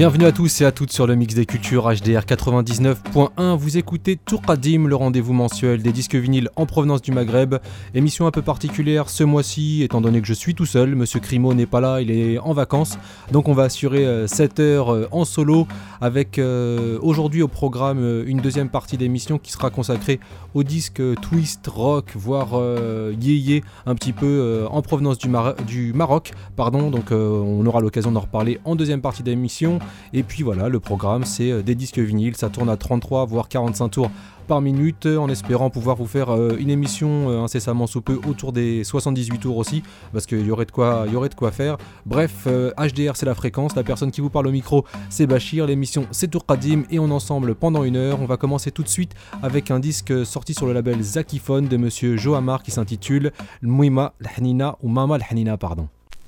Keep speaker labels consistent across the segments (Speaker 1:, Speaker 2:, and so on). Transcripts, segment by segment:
Speaker 1: Bienvenue à tous et à toutes sur le Mix des Cultures HDR 99.1. Vous écoutez Tourkadim, le rendez-vous mensuel des disques vinyles en provenance du Maghreb. Émission un peu particulière ce mois-ci, étant donné que je suis tout seul. Monsieur Crimo n'est pas là, il est en vacances. Donc on va assurer 7 heures en solo avec aujourd'hui au programme une deuxième partie d'émission qui sera consacrée au disque twist, rock, voire yéyé, un petit peu en provenance du Maroc. Donc on aura l'occasion d'en reparler en deuxième partie d'émission. Et puis voilà, le programme c'est des disques vinyles, ça tourne à 33 voire 45 tours par minute, en espérant pouvoir vous faire une émission incessamment sous peu autour des 78 tours aussi, parce qu'il y aurait de quoi faire. Bref, HDR c'est la fréquence, la personne qui vous parle au micro c'est Bachir, l'émission c'est Tourkadim et on est ensemble pendant une heure. On va commencer tout de suite avec un disque sorti sur le label Zakiphone de monsieur Johamar qui s'intitule Mouima L'Hanina ou Mama L'Hanina pardon.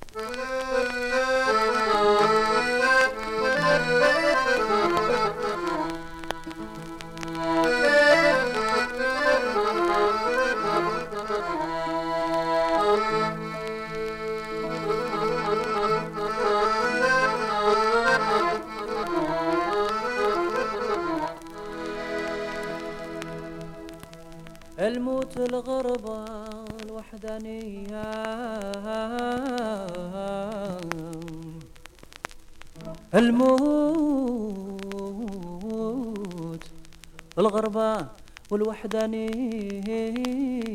Speaker 2: الموت الغربة الوحدانية الموت الغربة والوحدانية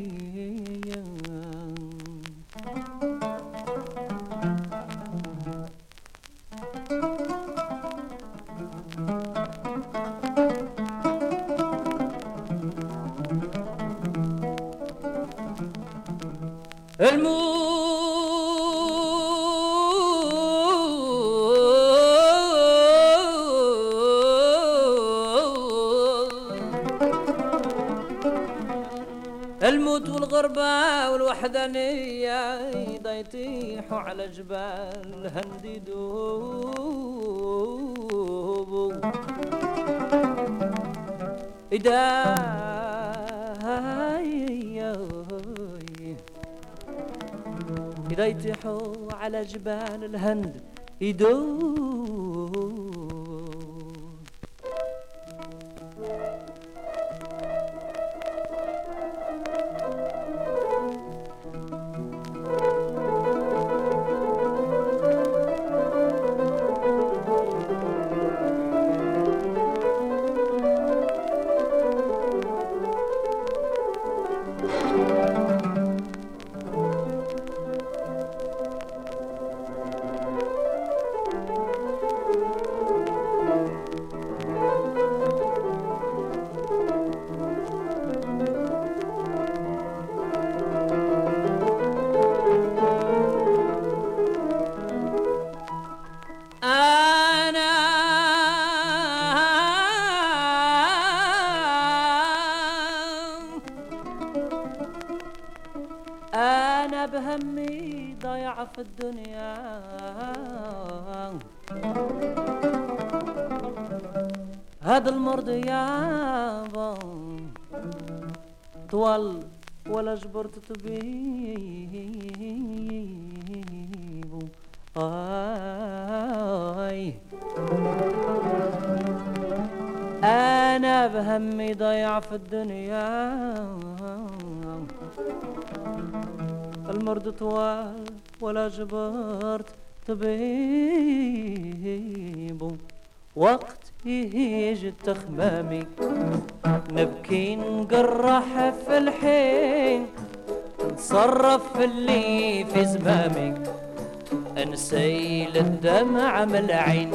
Speaker 2: الموت والغربة والوحدانية يطيحوا على جبال هند يدوبوا إذا يطيحوا على جبال الهند يدوب أنا بهمي ضايع في الدنيا هذا المرض يابا طول ولا جبرت طبيب أنا بهمي ضايع في الدنيا المرض طوال ولا جبرت طبيب وقت يجي التخمامي نبكي نقرح في الحين نصرف اللي في زمامي نسيل الدمع من العين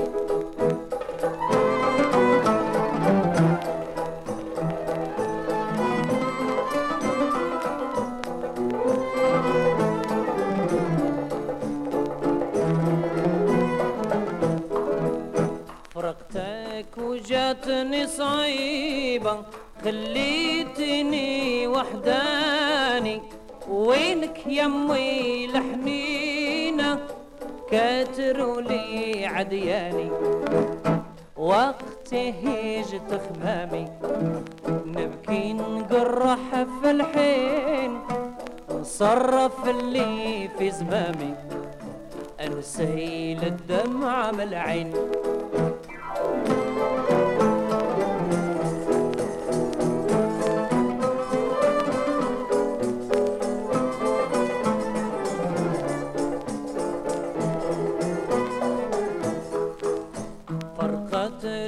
Speaker 2: وجاتني صعيبة خليتني وحداني وينك يمي الحنينة كاتروا لي عدياني وقت هيج تخمامي نبكي نقرح في الحين نصرف اللي في زمامي انسيل الدمع من العين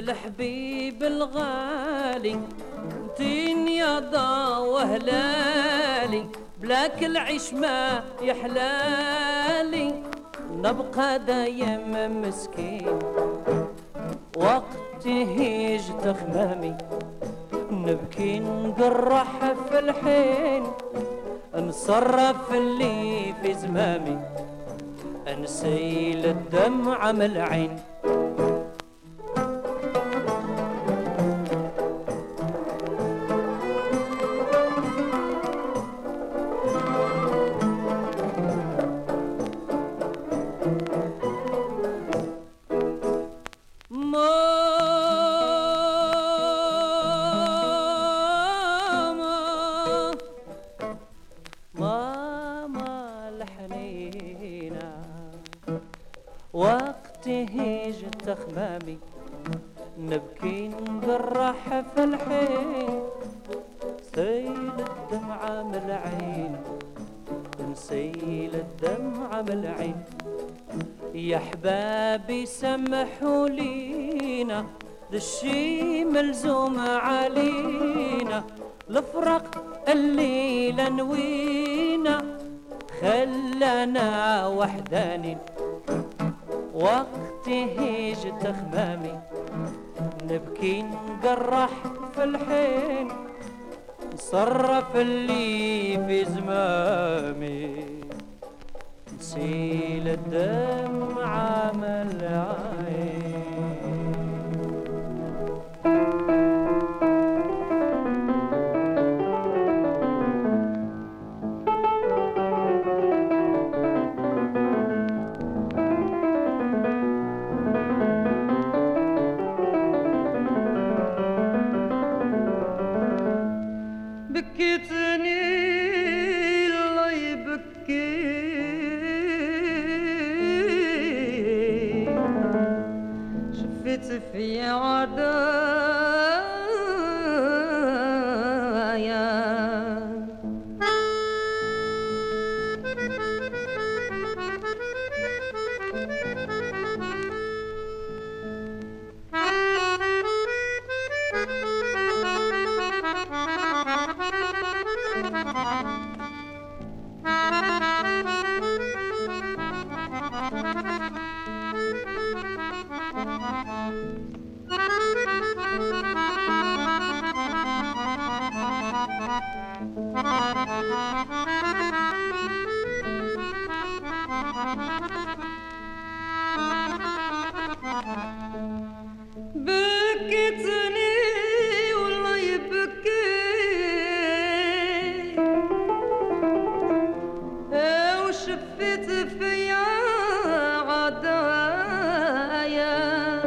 Speaker 2: الحبيب الغالي تين يا ضا وهلالي بلاك العيش ما يحلالي نبقى دايم مسكين وقت هيج تخمامي نبكي نقرح في الحين نصرف اللي في زمامي نسيل الدمع من العين تخمامي نبكي نقرح في الحين سيل الدمعة من العين نسيل الدمعة من العين يا حبابي سمحوا لينا الشي ملزوم علينا الفرق الليلة نوينا خلانا وحدانين وقت هيج تخمامي نبكي نقرح في الحين نصرف اللي في زمامي نسيل الدمعة من العين
Speaker 3: بكيتني الله يبكي شفت في عدايا بكيتني والله يبكي وشفت فيا عدايا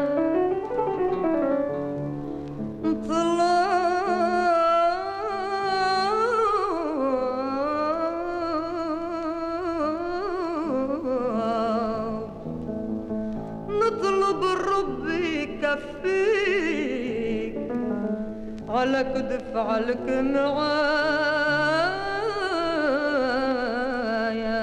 Speaker 3: نطلب الرب يكفيك على كدف عليك معايا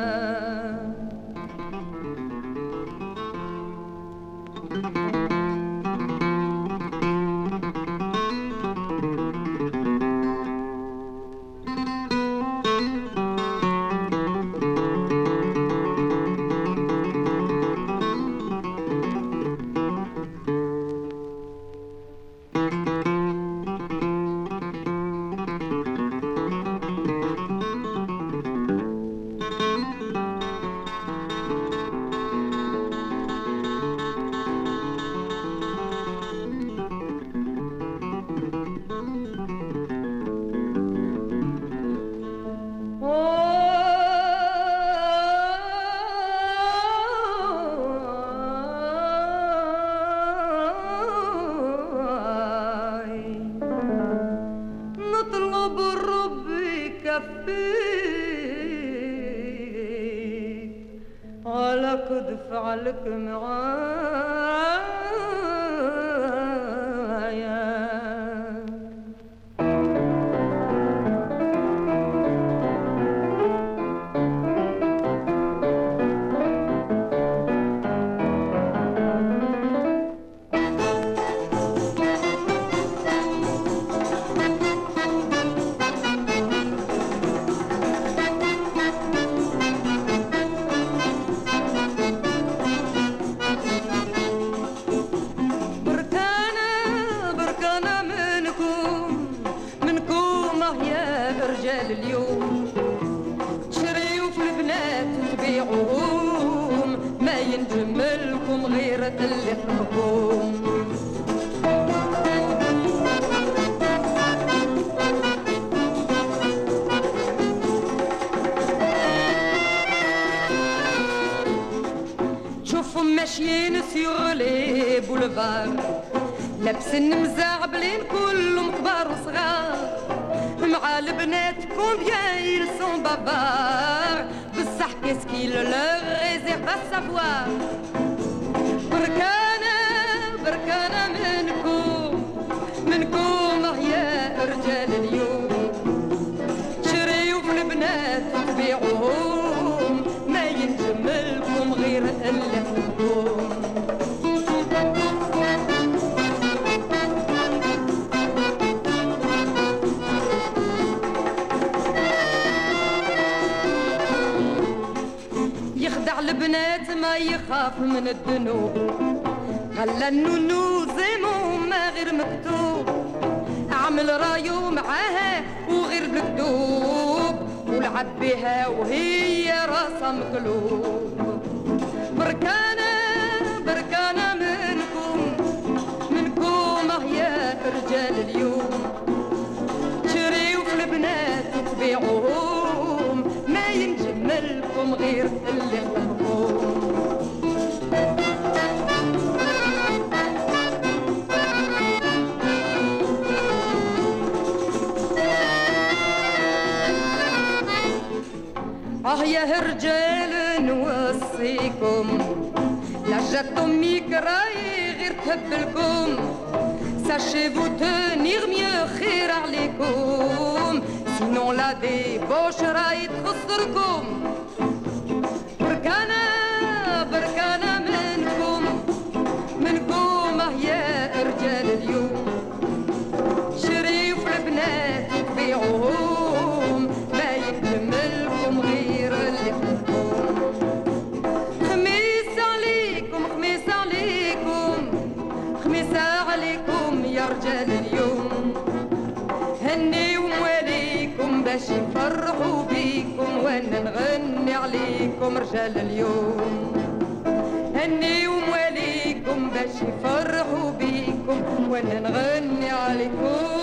Speaker 3: نطلب الرب يكفيك على كدف عليك معايا رجال اليوم تشريو في البنات تبيعوهم ما ينجملكم غير اللي خلقوم شوفهم ماشيين سيغ لي بولفار لابسين مزعبلين كلهم كبار وصغار مع البنات combien ils sont bavards بصح qu'est-ce qu'il leur réserve à savoir بركانا منكم يا رجال اليوم تشريو في البنات تبيعوهم ما ينجملكم غير اللي حبوهم يخدع البنات ما يخاف من الذنوب خلى النونو زيمو ما غير مكتوب عمل رايو معاها وغير بالكتوب ولعب بها وهي راسها مقلوب بركانا منكم يا رجال اليوم تشريو في البنات تبيعوهم ما ينجملكم غير اللي خلقوهم يا رجال نوصيكم لا جاتكم ميكراي غير تهبلكم ساشي فو تنيغ ميو خير عليكم سينون لا ديبوش راي تخسركم بركانا منكم يا رجال اليوم شريف البنات تبيعوهم ما يكملكم غير اللي خلقوم خميس عليكم يا رجال اليوم هني ومواليكم باش يفرحوا بيكم وانا نغني عليكم رجال اليوم هني ومواليكم باش يفرحوا بيكم وانا نغني عليكم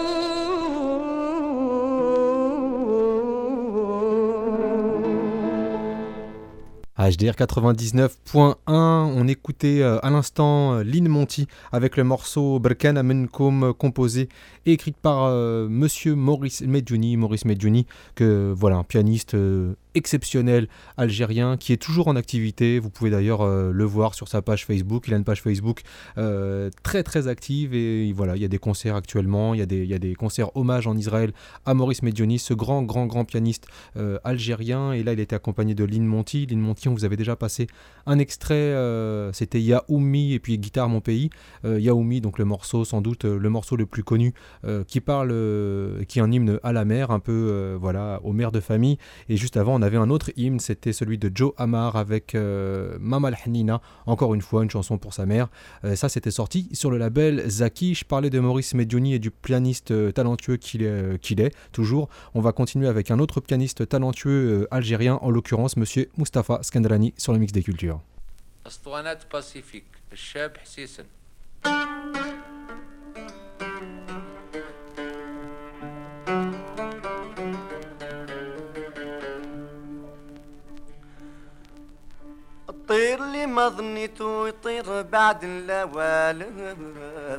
Speaker 1: HDR 99.1, on écoutait à l'instant Lynn Monty avec le morceau Berkana Menkoum composé et écrit par monsieur Maurice Medjouni, que voilà, un pianiste exceptionnel algérien qui est toujours en activité. Vous pouvez d'ailleurs le voir sur sa page Facebook. Il a une page Facebook très très active et voilà, il y a des concerts actuellement, il y a des concerts hommage en Israël à Maurice Medjouni, ce grand pianiste algérien. Et là il était accompagné de Lynn Monty. On vous avait déjà passé un extrait, c'était Yaoumi et puis Guitare Mon Pays. Yaoumi, donc le morceau, sans doute le morceau le plus connu, qui est un hymne à la mer, un peu voilà, aux mères de famille. Et juste avant on avait un autre hymne, c'était celui de Joe Amar avec Mama Al-Hanina, encore une fois une chanson pour sa mère. Ça c'était sorti sur le label Zaki. Je parlais de Maurice Medjouni et du pianiste talentueux qu'il est toujours. On va continuer avec un autre pianiste talentueux algérien, en l'occurrence monsieur Mustapha Skandrani sur le mix des cultures.
Speaker 4: اسطوانات باسيفيك الشاب حسيسن
Speaker 5: الطير اللي ما ظنيتو يطير بعد اللوالف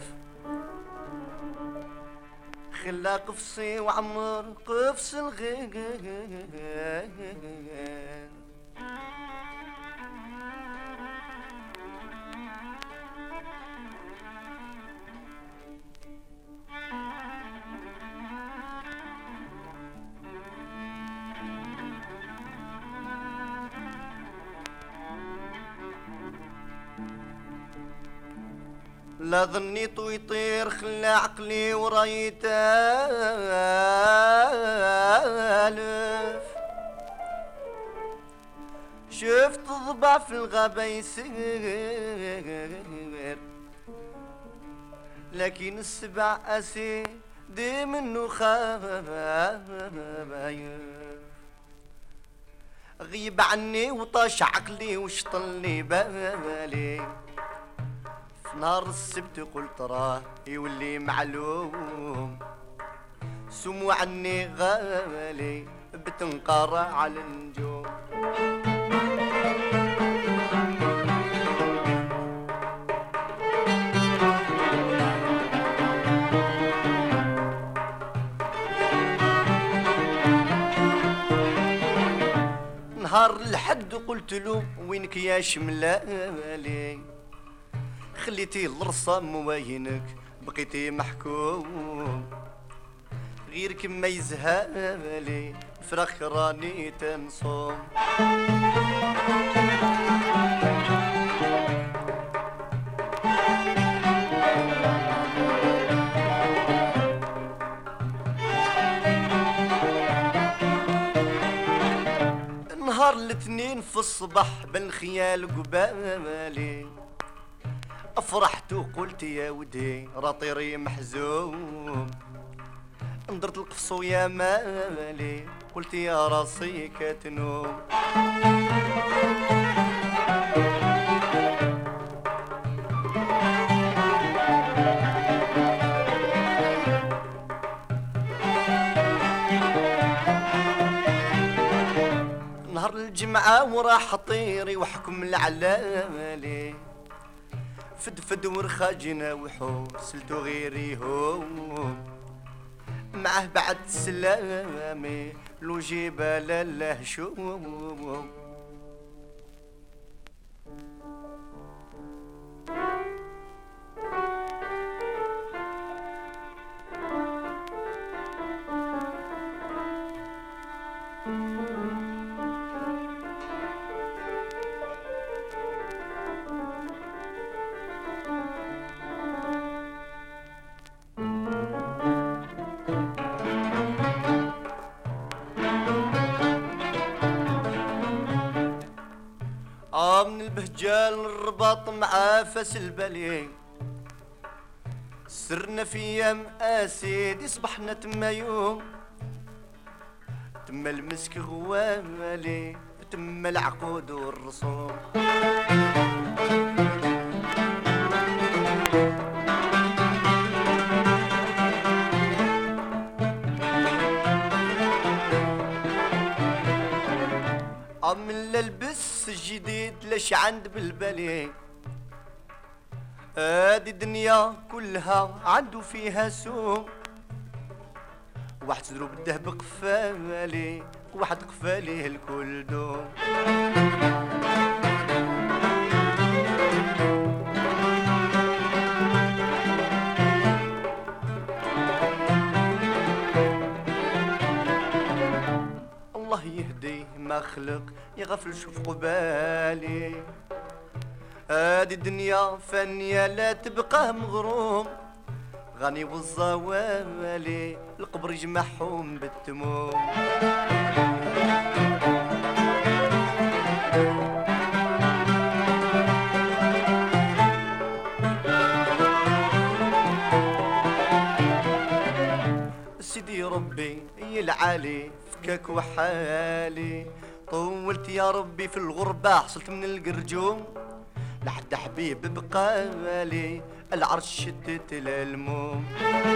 Speaker 5: خلا قفصي وعمر قفص الغير لا ظنيتو يطير خلى عقلي وراي تالف شفت ضبع في الغابة يسير لكن السبع أسير خديم النخايف غيب عني وطاش عقلي وشطلي بالي في نهار السبت قلت راه يولي معلوم سمو عني غالي بتنقرا على النجوم نهار الحد قلت له وينك يا شملالي خليتي الرصام وينك بقيتي محكوم غيرك ما يزهالي فراخ راني تنصوم نهار الاثنين في الصباح بالخيال قبالي افرحت وقلت يا ودي راطيري محزوم ندرت القفص يا مالي قلت يا راسي كتنوم نهار الجمعة وراح طيري وحكم العلالي فدفد ورخاجنا وحور سلتو غيري هوم معه بعد سلامي لو جبال اللهشوم من البهجال الرباط مع فاس البلي سرنا في ايام اسيدي صبحنا تما يوم تما المسك غوالي تما العقود والرسوم من للبس الجديد ليش عند بالبلي هادي الدنيا كلها عنده فيها سوم واحد صدرو بالذهب قفالي واحد قفاليه الكل دوم الله يهدي ما خلق يغفل شوف قبالي هادي الدنيا فانية لا تبقى مغروم غني والزوالي القبر يجمعهم بالتموم سيدي ربي يلعالي فكاك وحالي طولت يا ربي في الغربة حصلت من القرجوم لحد حبيب بقالي العرش شدت الالموم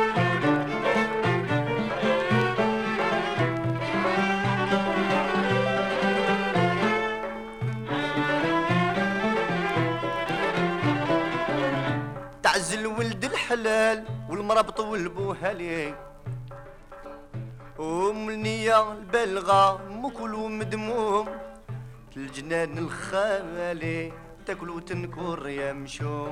Speaker 5: تعزل ولد الحلال والمرابط والبوهالي النية البلغة مكل ومدموم الجنان الخالي تاكل وتنكر يا مشوم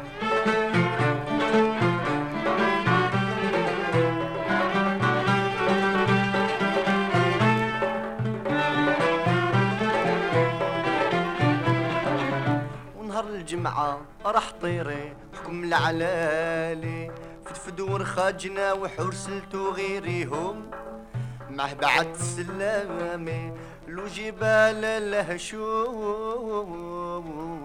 Speaker 5: ونهار الجمعة راح طيري حكم العلالي فدفد ورخاجنا وحرسلتو غيريهم معه بعد سلامي لو جبال الهشوم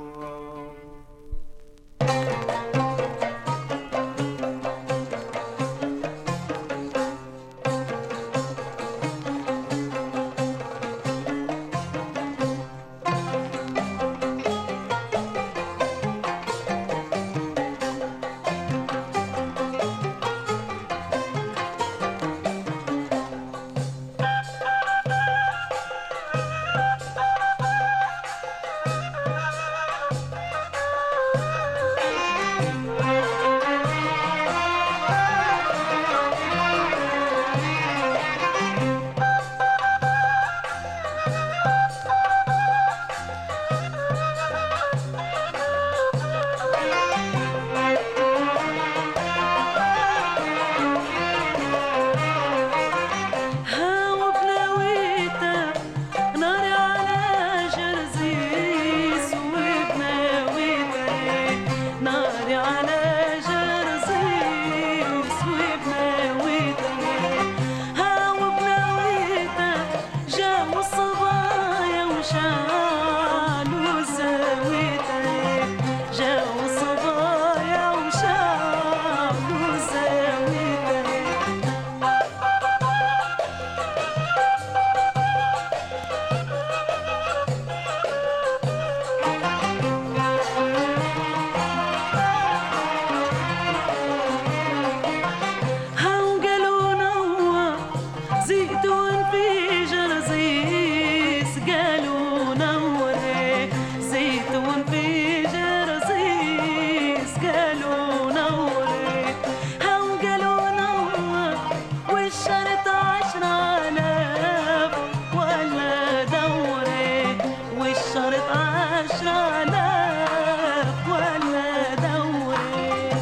Speaker 6: زيتون في جرزيس قالوا نوري زيتون في جرزيس قالوا نوري هم قالوا نور والشرط 10,000 ولا دوري والشرط 10,000 ولا دوري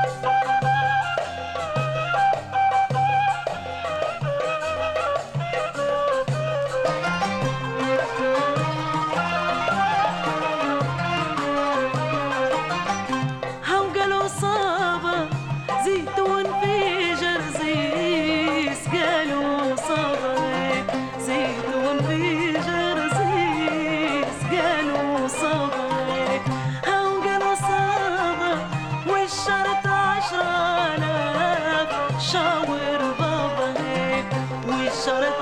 Speaker 6: هم قالوا صابة زيتون في جرزيس قالوا صابة زيتون في جرزيس قالوا صابة هم قالوا صابة والشرط 10,000 شاور بابا والشرط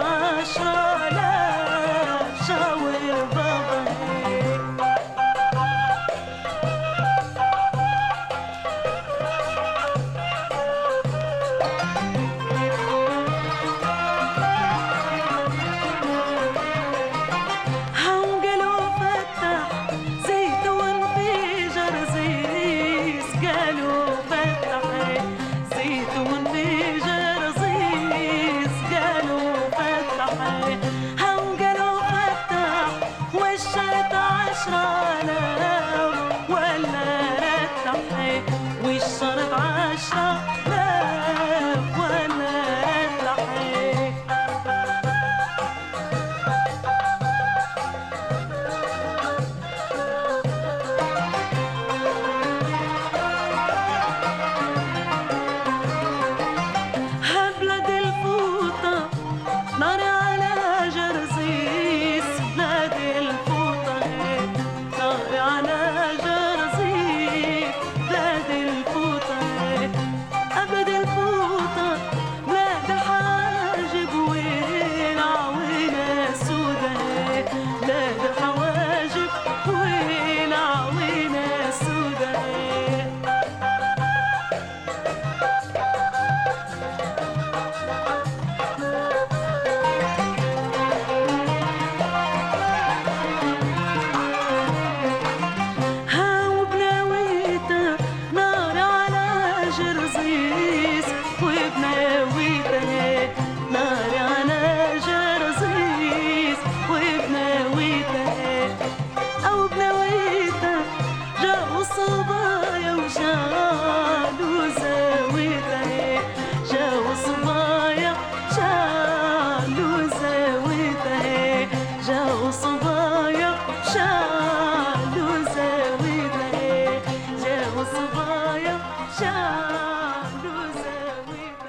Speaker 6: 10,000 شاور بابا هم قالوا فتح زيتون في جرزيس قالوا فتح زيتون في جرزيس قالوا فتح هم قالوا فتح والشرط 10,000 ولا رتح والشرط 10,000 ولا رتح بلاد الفوطة نار على جرزيس بلاد الفوطة نار على جرزيس بلاد الفوطة أبد الفوطة بلاد الحواجب وين عوينة سودة بلاد الحواجب وين عوينة سودة ها وبناويتا نار على جرزيس وبناويتا نار على جرزيس وبناويتا أو بناويتا جاوا صبايا وشالوا زاويتا جاوا صبايا شالوا زاويتا جاوا صبايا شالوا زاويتا جاوا صبايا شالوا زاويتا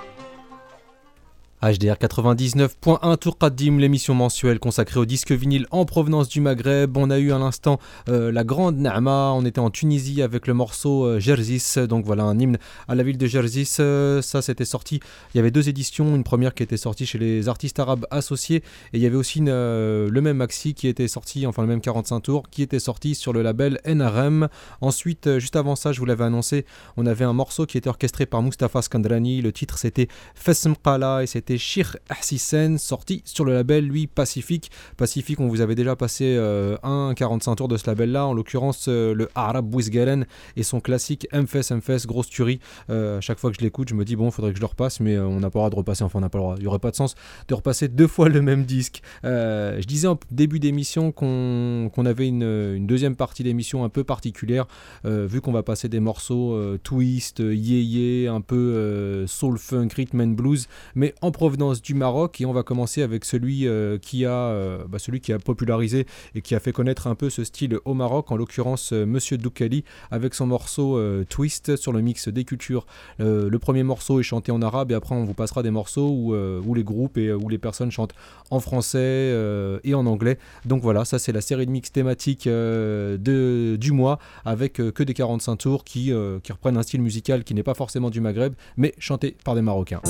Speaker 1: HDR 99.1 Tour Qadim, l'émission mensuelle consacrée aux disques vinyles en provenance du Maghreb. On a eu à l'instant la grande Naama, on était en Tunisie avec le morceau Jerzis, donc voilà un hymne à la ville de Jerzis. Ça c'était sorti, il y avait deux éditions, une première qui était sortie chez les artistes arabes associés et il y avait aussi le même maxi qui était sorti, enfin le même 45 tours qui était sorti sur le label NRM. Ensuite, juste avant ça, je vous l'avais annoncé, on avait un morceau qui était orchestré par Mustapha Skandrani, le titre c'était Fesm Qala et c'était Shir Ahsisen, sorti sur le label lui Pacific. Pacific, on vous avait déjà passé un 45 tours de ce label là, en l'occurrence le Arab Bouizgalen et son classique MFS, grosse tuerie. Chaque fois que je l'écoute, je me dis bon, faudrait que je le repasse, mais on n'a pas le droit de repasser, enfin on n'a pas le droit, il n'y aurait pas de sens de repasser deux fois le même disque. Je disais en début d'émission qu'on avait une deuxième partie d'émission un peu particulière, vu qu'on va passer des morceaux twist, yé, un peu soul funk, rhythm and blues, mais en provenance du Maroc, et on va commencer avec celui qui a popularisé et qui a fait connaître un peu ce style au Maroc, en l'occurrence Monsieur Doukali avec son morceau Twist sur le mix des cultures. Le premier morceau est chanté en arabe et après on vous passera des morceaux où les groupes et où les personnes chantent en français et en anglais. Donc voilà, ça c'est la série de mix thématique du mois avec que des 45 tours qui reprennent un style musical qui n'est pas forcément du Maghreb mais chanté par des Marocains.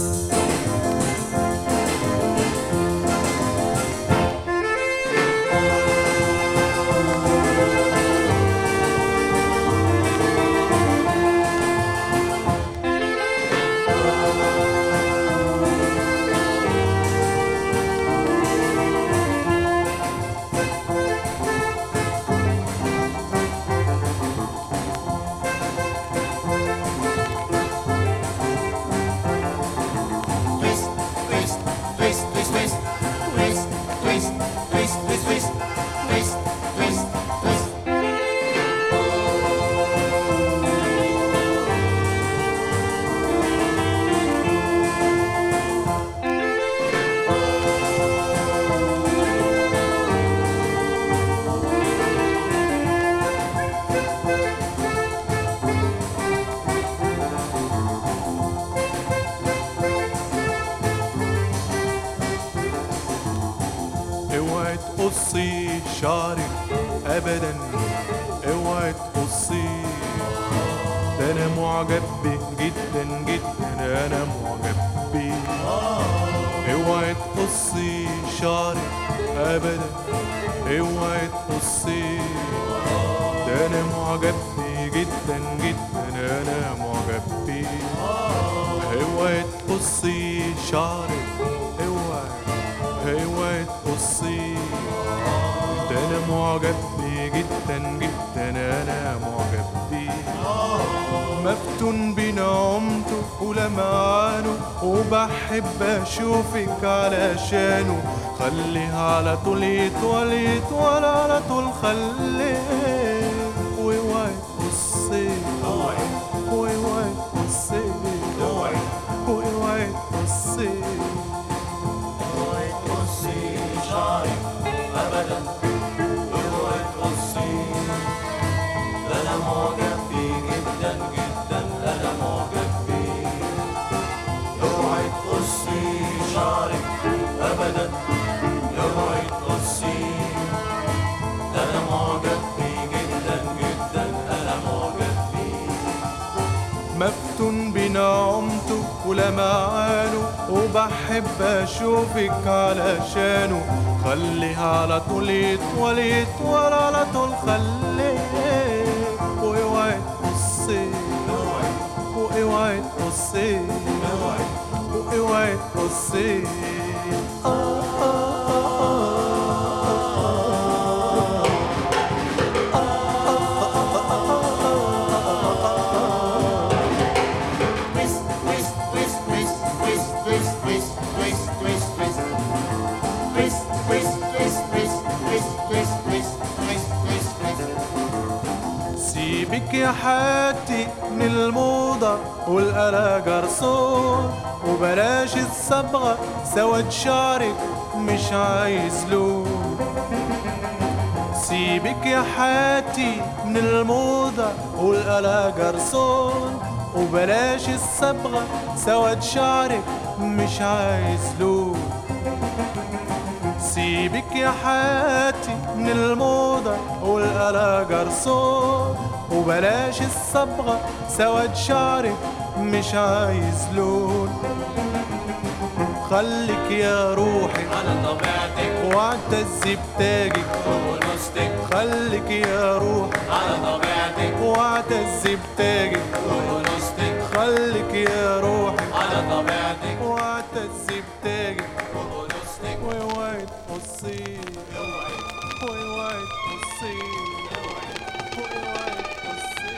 Speaker 5: twist, twist, twist, twist, twist, twist, twist, twist.
Speaker 7: اوعي تقصي شعرك ابدا، اوعي تقصي، ده انا معجب بيه جدا جدا، انا معجب بيه. اوعي تقصي شعرك ابدا، اوعي تقصي، ده انا معجب بيه جدا جدا، انا معجب بيه. اوعي تقصي شعرك، اوعي تقصي، ده انا معجب بيه جدا جدا، انا معجب بيه. مفتون بنعومته ولمعانه، وبحب اشوفك علشانه. خليه على طول يطول يطول على طول، خليه. واوعي تقصي، واوعي تقصي، واوعي تقصي،
Speaker 5: شعرك أبدا، اوعي تقصي، ده أنا معجب بيه جدا جدا، أنا معجب بيه. اوعي تقصي شعرك أبدا، اوعي تقصي، ده أنا معجب بيه جدا جدا، أنا معجب بيه.
Speaker 7: مفتون بنعومته ولمعانه، وبحب اشوفك علشانه. خليه على طول يطول يطول على طول، خليه. واوعي تقصي، واوعي تقصي، واوعي تقصي. سيبك يا حياتي من الموضة والقلق جرسون، وبلاش الصبغة سواد شعرك مش عايز لون. سيبك يا حياتي من الموضة والقلق جرسون، وبلاش الصبغة سواد شعرك مش عايز لون. سيبك يا حياتي من الموضة والقلق جرسون، وبلاش الصبغة سواد شعرك مش عايز لون. خليك يا روحي
Speaker 5: على طبيعتك،
Speaker 7: واعتز بتاجك
Speaker 5: ونستك.
Speaker 7: خليك يا روحي
Speaker 5: على طبيعتك،
Speaker 7: واعتز بتاجك
Speaker 5: ونستك.
Speaker 7: خليك يا روحي
Speaker 5: على طبيعتك،
Speaker 7: واعتز بتاجك
Speaker 5: ونستك.
Speaker 7: واوعي تقصي، واوعي تقصي، واوعي تقصي.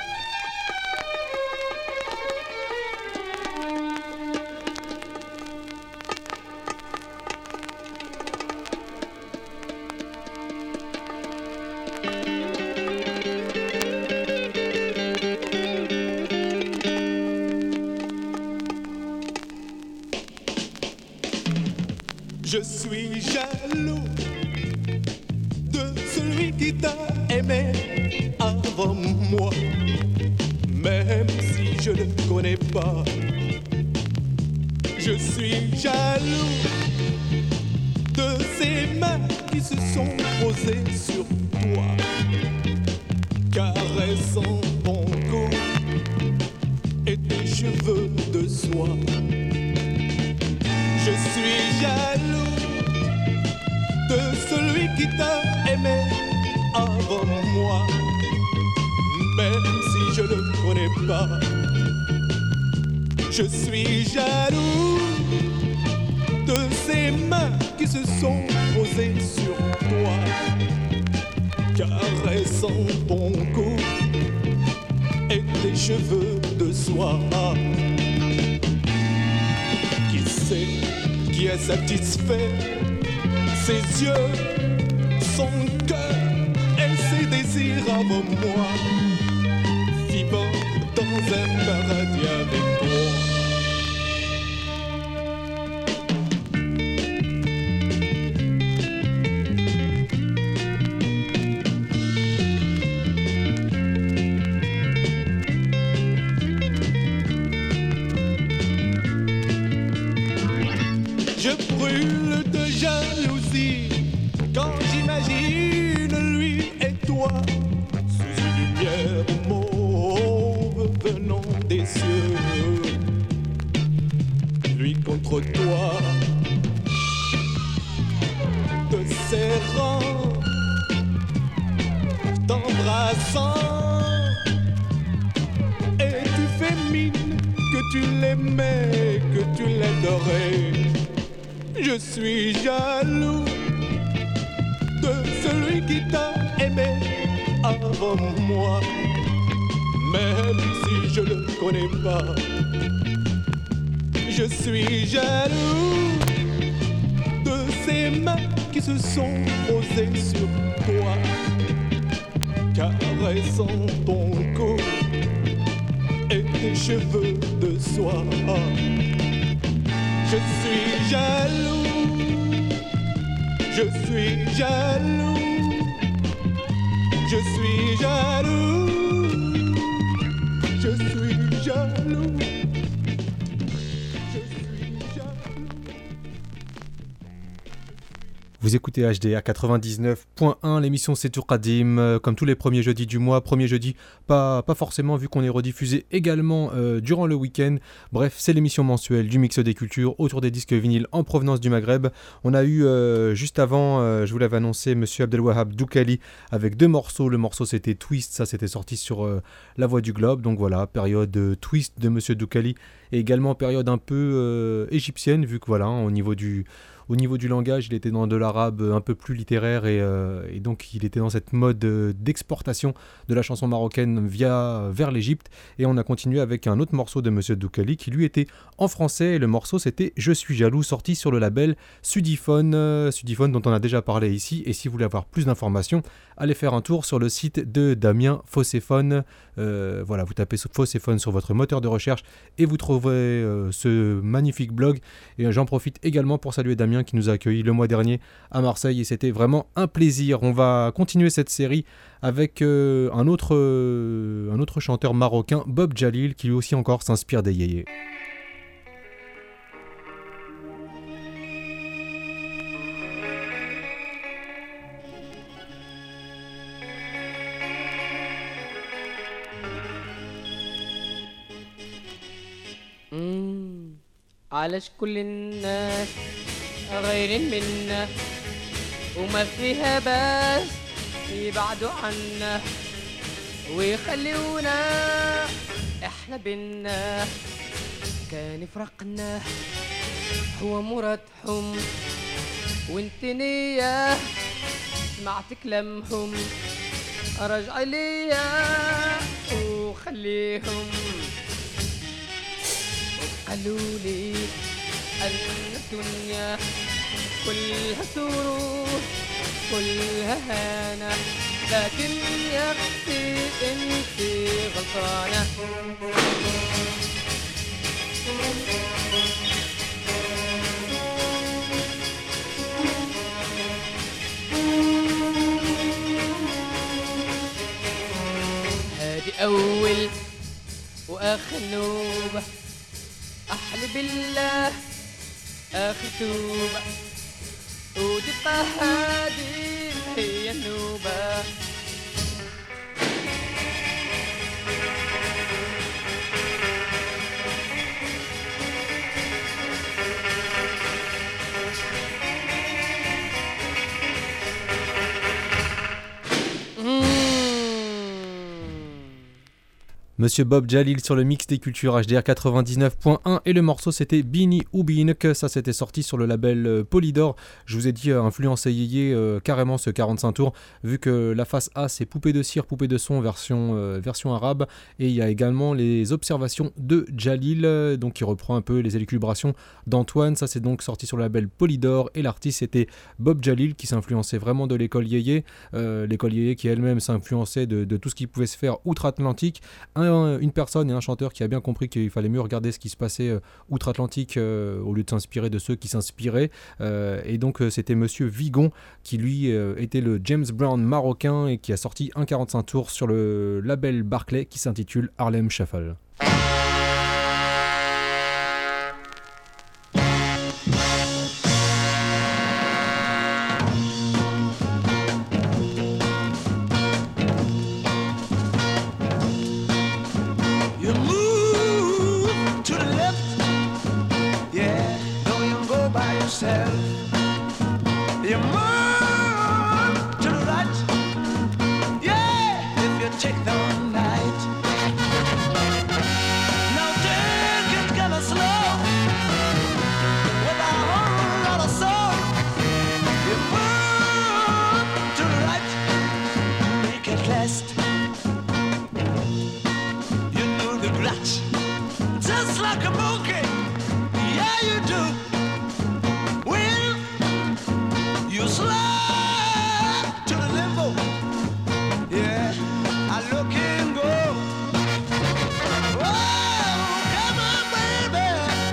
Speaker 8: Je suis jaloux de celui qui t'a aimé avant moi, même si je ne connais pas. Je suis jaloux de ces mains qui se sont posées sur toi, caressant ton cou et tes cheveux de soie. Je suis jaloux de celui qui t'a aimé avant moi, même si je ne le connais pas. Je suis jaloux de ces mains qui se sont posées sur toi, caressant ton cou et tes cheveux de soie. Qui sait qui est satisfait ses yeux, son cœur et ses désirs avant moi, vivant dans un paradis avec toi. Je brûle de jalousie quand j'imagine lui et toi sous une lumière mauve venant des cieux. Lui contre toi, te serrant, t'embrassant, et tu fais mine que tu l'aimais, que tu l'adorais. Je suis jaloux de celui qui t'a aimé avant moi, même si je le connais pas. Je suis jaloux de ces mains qui se sont posées sur toi, caressant ton cou et tes cheveux de soie. Je suis jaloux, je suis jaloux, je suis jaloux, je suis jaloux, je suis jaloux.
Speaker 1: Vous écoutez HDR 99.1, l'émission c'est Tourkadim, comme tous les premiers jeudis du mois. Premier jeudi, pas forcément vu qu'on est rediffusé également durant le week-end. Bref, c'est l'émission mensuelle du mix des cultures autour des disques vinyles en provenance du Maghreb. On a eu juste avant, je vous l'avais annoncé, Monsieur Abdelwahab Doukali avec 2 morceaux. Le morceau c'était Twist, ça c'était sorti sur La Voix du Globe. Donc voilà, période Twist de Monsieur Doukali et également période un peu égyptienne, vu que voilà, au niveau du langage, il était dans de l'arabe un peu plus littéraire et donc il était dans cette mode d'exportation de la chanson marocaine vers l'Égypte. Et on a continué avec un autre morceau de Monsieur Doukali qui lui était en français. Et le morceau c'était Je suis jaloux, sorti sur le label Sudiphone dont on a déjà parlé ici. Et si vous voulez avoir plus d'informations, allez faire un tour sur le site de Damien Fosséphone. Voilà, vous tapez Fosséphone sur votre moteur de recherche et vous trouverez ce magnifique blog. Et j'en profite également pour saluer Damien qui nous a accueillis le mois dernier à Marseille et c'était vraiment un plaisir. On va continuer cette série avec un autre chanteur marocain, Bob Jalil, qui lui aussi encore s'inspire des yéyés.
Speaker 2: علاش كل الناس غيرين منا وما فيها بس يبعدوا عنا ويخليونا احنا بينا كان فرقنا هو مرادهم وانت نية سمعت كلامهم رجع ليا وخليهم قالوا لي أن الدنيا كلها سرور كلها هانة لكن يا أختي أنت غلطانة هذه أول وآخر نوبة أحلى بالله آخر توبة وتبقى هذه هي النوبة
Speaker 1: Monsieur Bob Jalil sur le mix des cultures HDR 99.1 et le morceau c'était Bini Ubinek, ça c'était sorti sur le label Polydor. Je vous ai dit influencé yéyé carrément ce 45 tours vu que la face A c'est Poupée de cire, Poupée de son version arabe et il y a également les observations de Jalil donc qui reprend un peu les élucubrations d'Antoine, ça c'est donc sorti sur le label Polydor et l'artiste c'était Bob Jalil qui s'influençait vraiment de l'école yéyé, l'école yéyé qui elle-même s'influençait de tout ce qui pouvait se faire outre-Atlantique. Une personne et un chanteur qui a bien compris qu'il fallait mieux regarder ce qui se passait outre-Atlantique au lieu de s'inspirer de ceux qui s'inspiraient et donc c'était Monsieur Vigon qui lui était le James Brown marocain et qui a sorti un 45 tours sur le label Barclay qui s'intitule Harlem Shuffle.
Speaker 9: You move to the right, yeah, if you take the night. Now take it kinda slow, with a whole lot of soul. You move to the right, make it last. You do the grat, just like a monkey, yeah you do. You slide to the limbo, yeah, I look and go. Oh, come on, baby.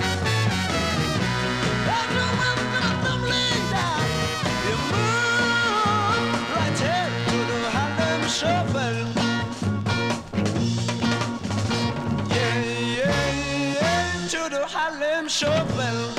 Speaker 9: I know I'm gonna tumbling down. You move right here to the Harlem Shuffle. Yeah, yeah, yeah, to the Harlem Shuffle.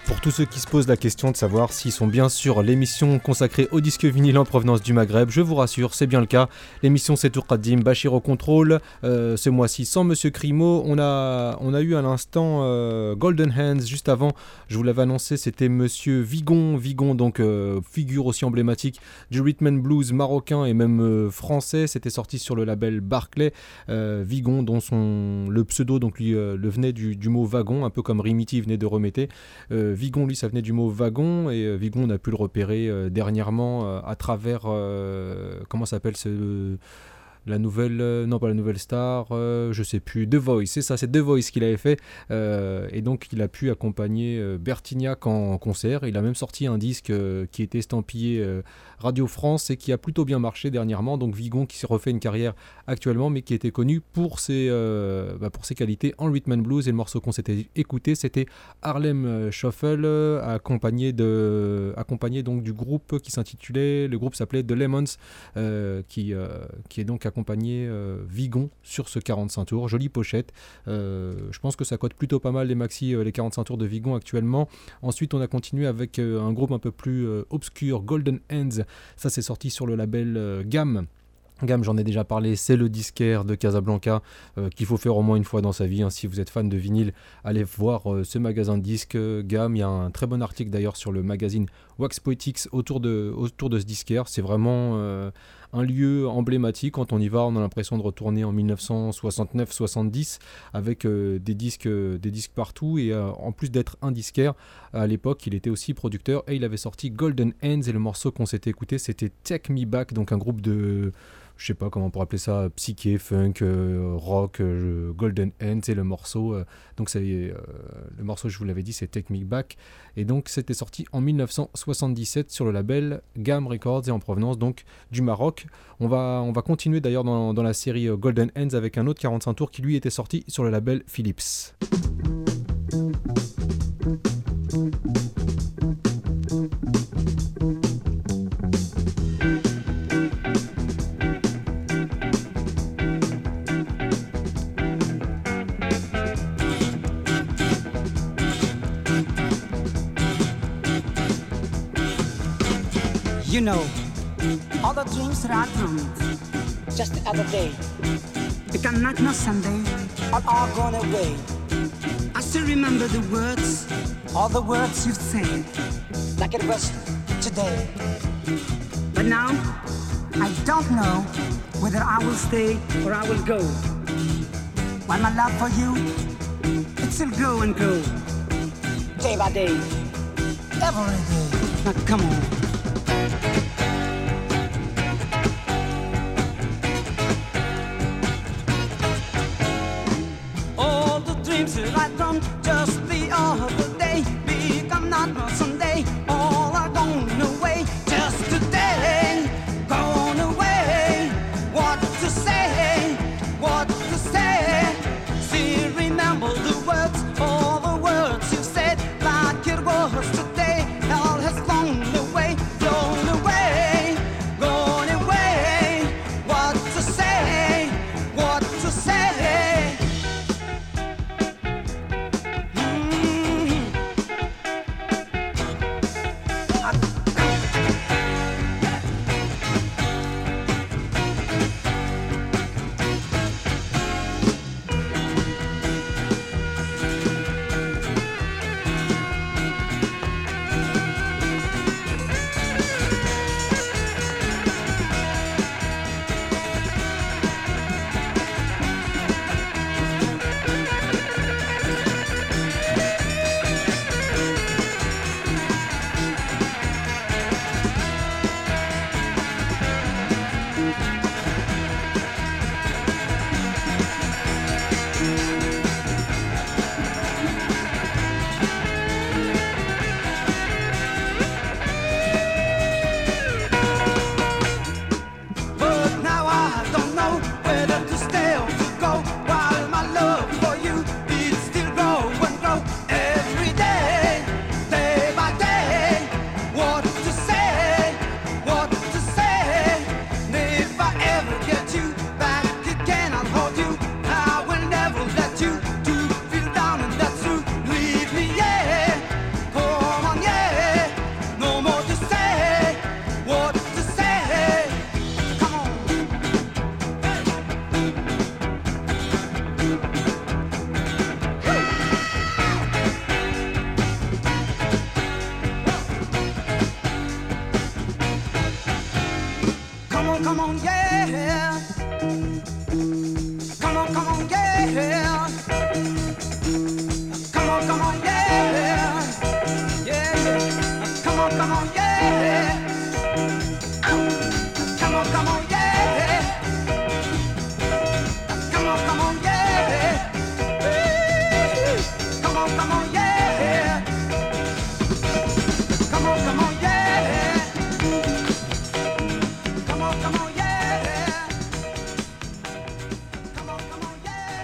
Speaker 1: Pour tous ceux qui se posent la question de savoir s'ils sont bien sur l'émission consacrée au disque vinyle en provenance du Maghreb, je vous rassure, c'est bien le cas. L'émission c'est Tourkadim, Bachir au contrôle. Ce mois-ci sans Monsieur Crimo, on a eu à l'instant Golden Hands. Juste avant, je vous l'avais annoncé, c'était Monsieur Vigon. Vigon, donc figure aussi emblématique du rhythm and blues marocain et même français. C'était sorti sur le label Barclay. Vigon, dont le pseudo donc lui le venait du mot wagon, un peu comme Rimiti venait de Remété. Vigon, lui, ça venait du mot wagon, et Vigon, on a pu le repérer dernièrement à travers, comment s'appelle la nouvelle, non pas la nouvelle star, je sais plus, The Voice, c'est ça, c'est The Voice qu'il avait fait, et donc il a pu accompagner Bertignac en concert. Il a même sorti un disque qui était estampillé Radio France et qui a plutôt bien marché dernièrement. Donc Vigon qui s'est refait une carrière actuellement, mais qui était connu pour ses qualités en rhythm and blues. Et le morceau qu'on s'était écouté, c'était Harlem Shuffle, accompagné donc du groupe qui s'intitulait, le groupe s'appelait The Lemons, qui est donc accompagné Vigon sur ce 45 tours. Jolie pochette. Je pense que ça cote plutôt pas mal les maxi, les 45 tours de Vigon actuellement. Ensuite, on a continué avec un groupe un peu plus obscur, Golden Hands. Ça, c'est sorti sur le label Gamme. Gamme, j'en ai déjà parlé, c'est le disquaire de Casablanca qu'il faut faire au moins une fois dans sa vie. Si vous êtes fan de vinyle, allez voir ce magasin de disques Gamme. Il y a un très bon article d'ailleurs sur le magazine Wax Poetics autour de ce disquaire. C'est vraiment un lieu emblématique. Quand on y va, on a l'impression de retourner en 1969-70 avec des disques partout. Et en plus d'être un disquaire, à l'époque, il était aussi producteur et il avait sorti Golden Hands. Et le morceau qu'on s'était écouté, c'était Take Me Back, donc un groupe de... je sais pas comment on pourrait appeler ça, psyché, funk, rock, Golden Hands, et le morceau, le morceau, je vous l'avais dit, c'est Take Me Back, et donc c'était sorti en 1977 sur le label Gamme Records et en provenance donc du Maroc. On va continuer d'ailleurs dans la série Golden Hands avec un autre 45 tours qui lui était sorti sur le label Philips.
Speaker 10: You know, all the dreams that I dreamed just the other day, they can not know someday, all gone away. I still remember the words, all the words you've said, like it was today. But now, I don't know whether I will stay or I will go. While my love for you, it still grow and grow, day by day, every day. Now come on. Right from just the other day, become not someday, all are gone away. Just today, gone away. What to say, what to say. Still remember the words, all the words you said, like it was today. All has flown away, gone away. What to say, what to say. come on, yeah. Come on, yeah. Come on, yeah. Yeah, yeah. Come on, yeah. Come on, yeah. Come on, yeah. Come on, yeah. Come on, yeah. Come on, yeah. Come on, yeah. Come on, yeah.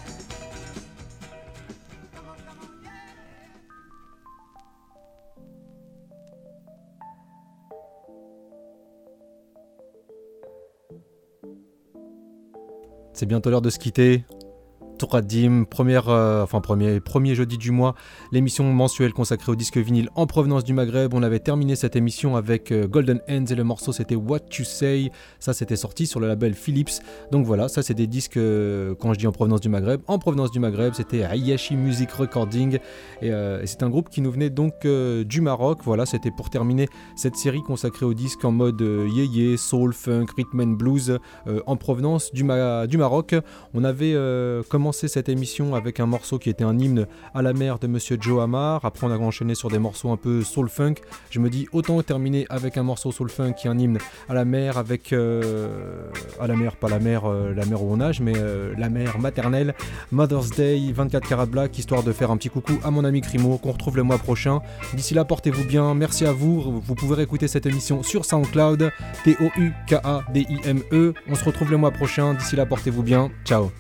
Speaker 1: C'est bientôt l'heure de se quitter. Touradim, premier jeudi du mois, l'émission mensuelle consacrée au disque vinyle en provenance du Maghreb. On avait terminé cette émission avec Golden Hands et le morceau c'était What You Say. Ça c'était sorti sur le label Philips. Donc voilà, ça c'est des disques, quand je dis en provenance du Maghreb, c'était Ayashi Music Recording et c'est un groupe qui nous venait donc du Maroc. Voilà, c'était pour terminer cette série consacrée aux disques en mode yéyé, soul, funk, rhythm and blues en provenance du Maroc. On avait commencé cette émission avec un morceau qui était un hymne à la mer de Monsieur Joe Amar. Après on a enchaîné sur des morceaux un peu soul funk. Je me dis autant terminer avec un morceau soul funk qui est un hymne à la mer, avec à la mer, pas la mer où on nage, mais la mer maternelle. Mother's Day, 24 Karat Black, histoire de faire un petit coucou à mon ami Crimo qu'on retrouve le mois prochain. D'ici là, portez-vous bien, merci à vous. Vous pouvez réécouter cette émission sur SoundCloud, TOUKADIME. On se retrouve le mois prochain. D'ici là, portez-vous bien. Ciao.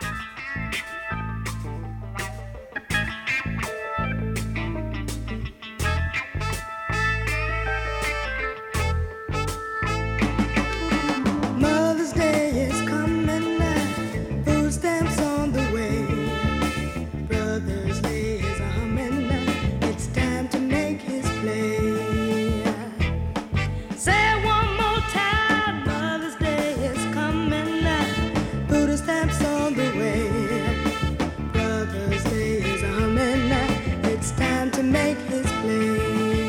Speaker 6: Mother's Day is coming now, food stamps on the way. Brother's Day is humming now, it's time to make his play. Say it one more time, Mother's Day is coming now, food stamps on the way. Brother's Day is humming now, it's time to make his play.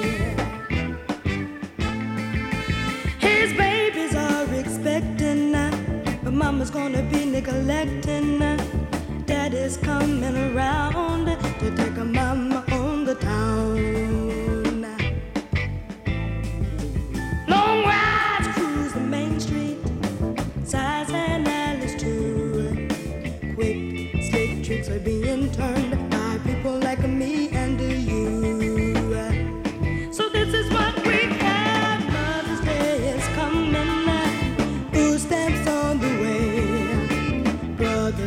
Speaker 6: His babies are expecting now, but mama's gonna be neglecting now. Daddy's coming around to take a mama on the town. Long rides cruise the main street, sighs and alleys too. Quick, slick tricks are being turned by people like me and you. So this is what we have. Mother's Day is coming now, food stamps on the way. Brother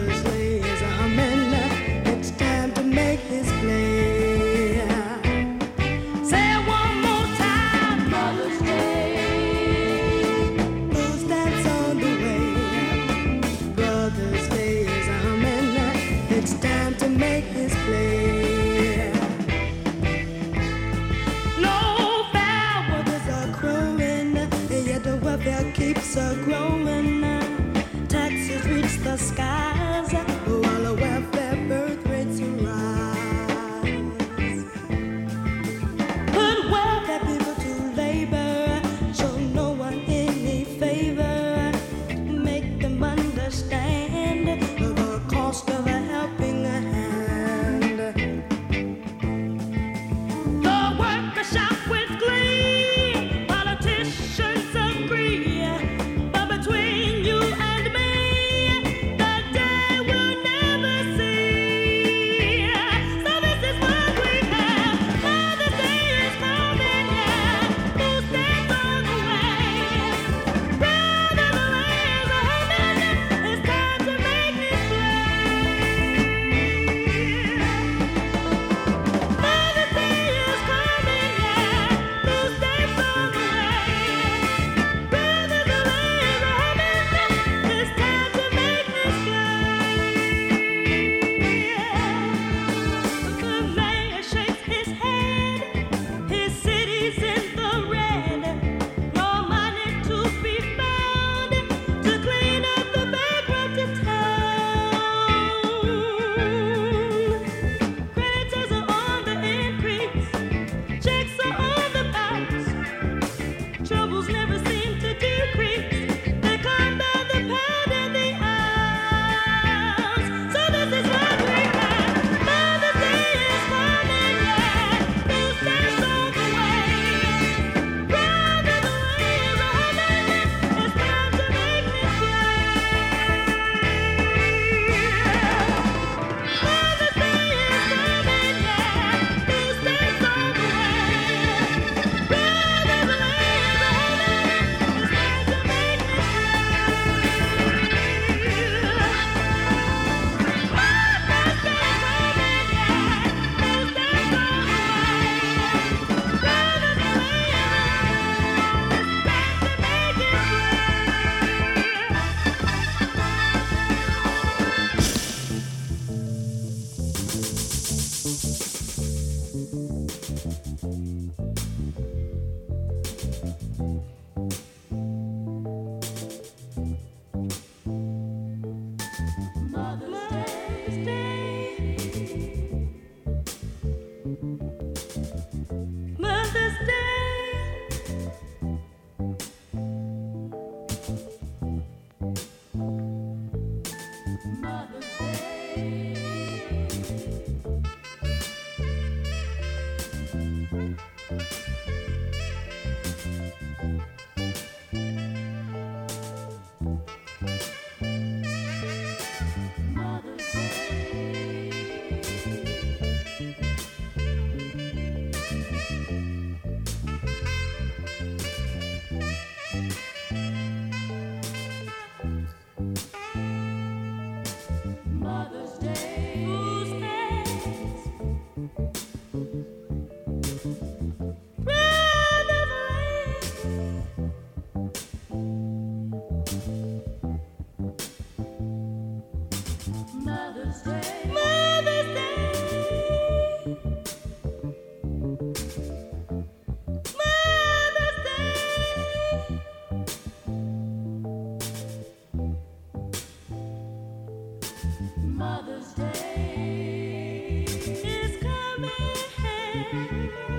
Speaker 6: again.